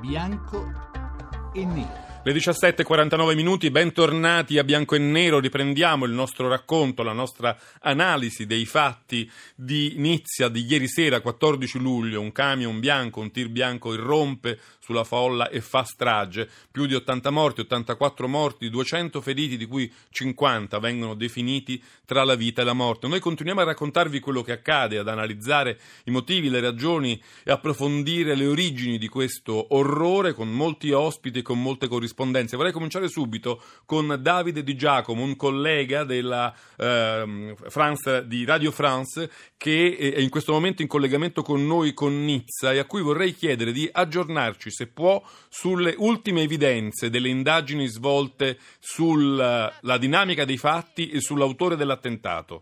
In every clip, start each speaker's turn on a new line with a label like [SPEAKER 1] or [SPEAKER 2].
[SPEAKER 1] bianco e nero.
[SPEAKER 2] Le 17:49 minuti, bentornati a Bianco e Nero. Riprendiamo il nostro racconto, la nostra analisi dei fatti di Nizza di ieri sera, 14 luglio. Un camion bianco, un tir bianco irrompe sulla folla e fa strage. Più di 80 morti, 84 morti, 200 feriti, di cui 50 vengono definiti tra la vita e la morte. Noi continuiamo a raccontarvi quello che accade, ad analizzare i motivi, le ragioni e approfondire le origini di questo orrore con molti ospiti e con molte corrispondenze. Vorrei cominciare subito con Davide Di Giacomo, un collega della di Radio France, che è in questo momento in collegamento con noi con Nizza e a cui vorrei chiedere di aggiornarci, se può, sulle ultime evidenze delle indagini svolte sulla dinamica dei fatti e sull'autore dell'attentato.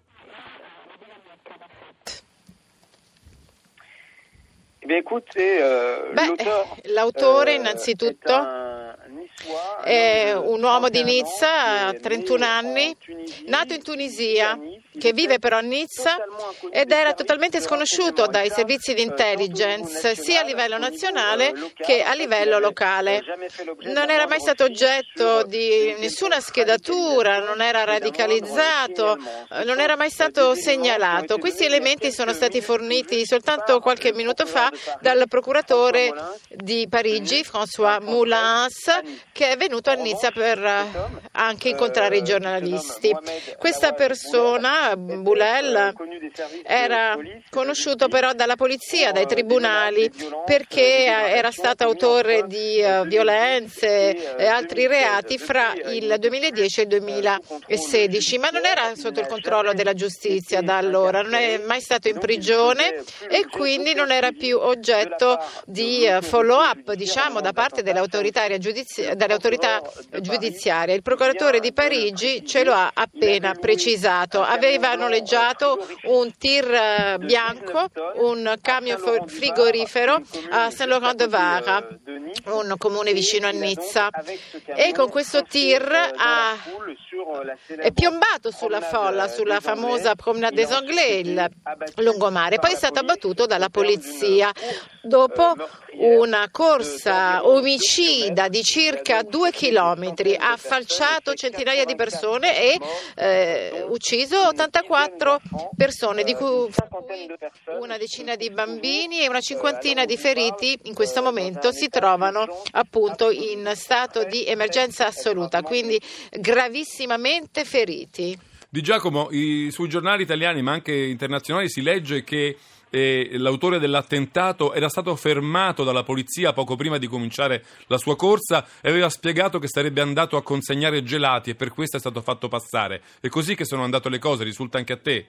[SPEAKER 3] L'autore innanzitutto è un uomo di Nizza, 31 anni, nato in Tunisia, che vive però a Nizza ed era totalmente sconosciuto dai servizi di intelligence sia a livello nazionale che a livello locale. Non era mai stato oggetto di nessuna schedatura, non era radicalizzato, non era mai stato segnalato. Questi elementi sono stati forniti soltanto qualche minuto fa dal procuratore di Parigi, François Moulins, che è venuto a Nizza per anche incontrare i giornalisti. Questa persona, Boulel, era conosciuto però dalla polizia, dai tribunali, perché era stato autore di violenze e altri reati fra il 2010 e il 2016, ma non era sotto il controllo della giustizia da allora, non è mai stato in prigione e quindi non era più oggetto di follow-up, diciamo, da parte delle autorità giudiziarie. Il procuratore di Parigi ce lo ha appena precisato. Aveva noleggiato un tir bianco, un camion frigorifero a Saint-Laurent-de-Var, un comune vicino a Nizza, e con questo tir è piombato sulla folla, sulla famosa Promenade des Anglais, il lungomare. Poi è stato abbattuto dalla polizia dopo una corsa omicida di circa 2 chilometri. Ha falciato centinaia di persone e ucciso 84 persone, di cui una decina di bambini e una cinquantina di feriti. In questo momento si trovano appunto in stato di emergenza assoluta, quindi gravissimamente feriti.
[SPEAKER 2] Di Giacomo, sui giornali italiani ma anche internazionali si legge che l'autore dell'attentato era stato fermato dalla polizia poco prima di cominciare la sua corsa e aveva spiegato che sarebbe andato a consegnare gelati e per questo è stato fatto passare. È così che sono andate le cose, risulta anche a te?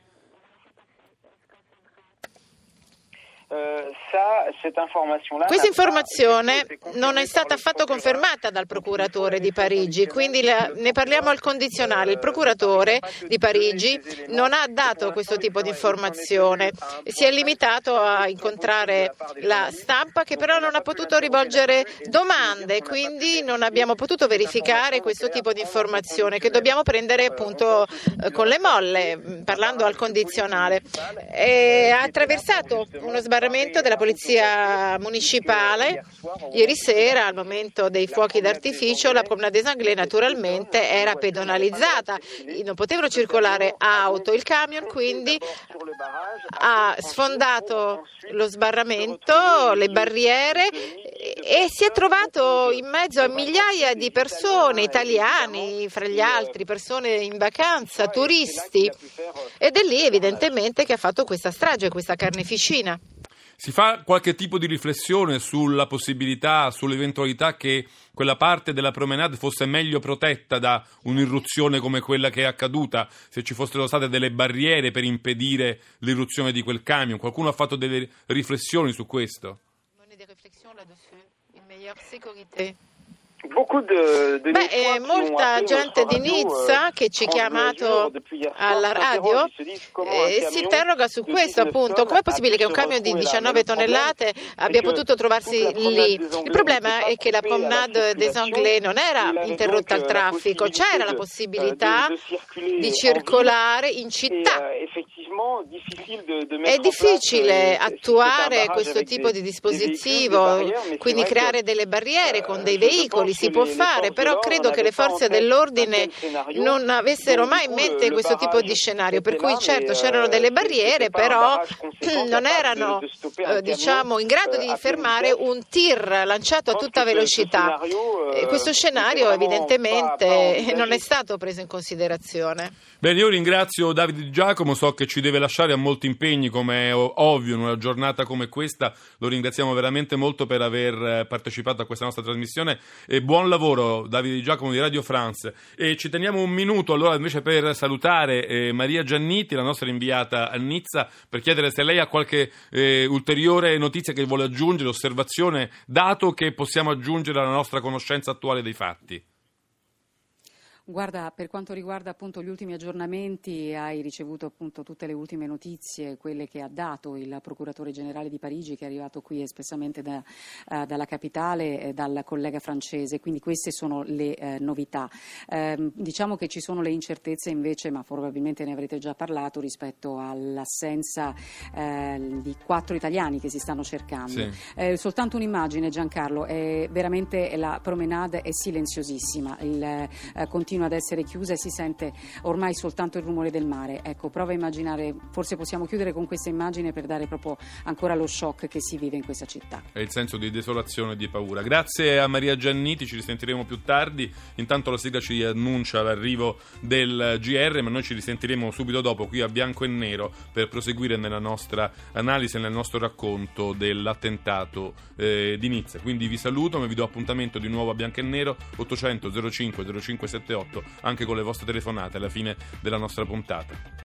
[SPEAKER 3] Questa informazione non è stata affatto confermata dal procuratore di Parigi, quindi ne parliamo al condizionale. Il procuratore di Parigi non ha dato questo tipo di informazione, si è limitato a incontrare la stampa, che però non ha potuto rivolgere domande, quindi non abbiamo potuto verificare questo tipo di informazione che dobbiamo prendere appunto con le molle, parlando al condizionale. Ha attraversato uno sbarramento della polizia municipale ieri sera al momento dei fuochi d'artificio. La Promenade des Anglais naturalmente era pedonalizzata, non potevano circolare auto. Il camion quindi ha sfondato lo sbarramento, le barriere, e si è trovato in mezzo a migliaia di persone, italiani fra gli altri, persone in vacanza, turisti, ed è lì evidentemente che ha fatto questa strage, questa carneficina.
[SPEAKER 2] Si fa qualche tipo di riflessione sulla possibilità, sull'eventualità che quella parte della promenade fosse meglio protetta da un'irruzione come quella che è accaduta, se ci fossero state delle barriere per impedire l'irruzione di quel camion? Qualcuno ha fatto delle riflessioni su questo?
[SPEAKER 3] Molta gente di Nizza che ci ha chiamato alla radio si interroga su questo, appunto, com'è possibile che un camion di 19 tonnellate abbia potuto trovarsi lì? Il problema è che la Promenade des Anglais non era interrotta al traffico, c'era la possibilità di circolare in città. È difficile attuare questo tipo di dispositivo, quindi creare delle barriere con dei veicoli, si può fare, però credo che le forze dell'ordine non avessero mai in mente questo tipo di scenario, per cui certo c'erano delle barriere, però non erano in grado di fermare un tir lanciato a tutta velocità. Questo scenario evidentemente non è stato preso in considerazione.
[SPEAKER 2] Bene, io ringrazio Davide Di Giacomo, so che ci deve lasciare, a molti impegni come è ovvio in una giornata come questa, lo ringraziamo veramente molto per aver partecipato a questa nostra trasmissione e buon lavoro Davide Di Giacomo di Radio France. E ci teniamo un minuto allora invece per salutare Maria Gianniti, la nostra inviata a Nizza, per chiedere se lei ha qualche ulteriore notizia che vuole aggiungere, osservazione, dato che possiamo aggiungere alla nostra conoscenza attuale dei fatti.
[SPEAKER 4] Guarda, per quanto riguarda appunto gli ultimi aggiornamenti, hai ricevuto appunto tutte le ultime notizie, quelle che ha dato il procuratore generale di Parigi, che è arrivato qui espressamente dalla capitale, dal collega francese, quindi queste sono le novità. Diciamo che ci sono le incertezze invece, ma probabilmente ne avrete già parlato, rispetto all'assenza di 4 italiani che si stanno cercando. Sì. Soltanto un'immagine, Giancarlo, veramente la promenade è silenziosissima, continua ad essere chiusa e si sente ormai soltanto il rumore del mare. Ecco, prova a immaginare, forse possiamo chiudere con questa immagine per dare proprio ancora lo shock che si vive in questa città. È
[SPEAKER 2] il senso di desolazione e di paura. Grazie a Maria Gianniti, ci risentiremo più tardi. Intanto la sigla ci annuncia l'arrivo del GR, ma noi ci risentiremo subito dopo qui a Bianco e Nero per proseguire nella nostra analisi e nel nostro racconto dell'attentato di Nizza. Quindi vi saluto, ma vi do appuntamento di nuovo a Bianco e Nero 800 05 0578 anche con le vostre telefonate alla fine della nostra puntata.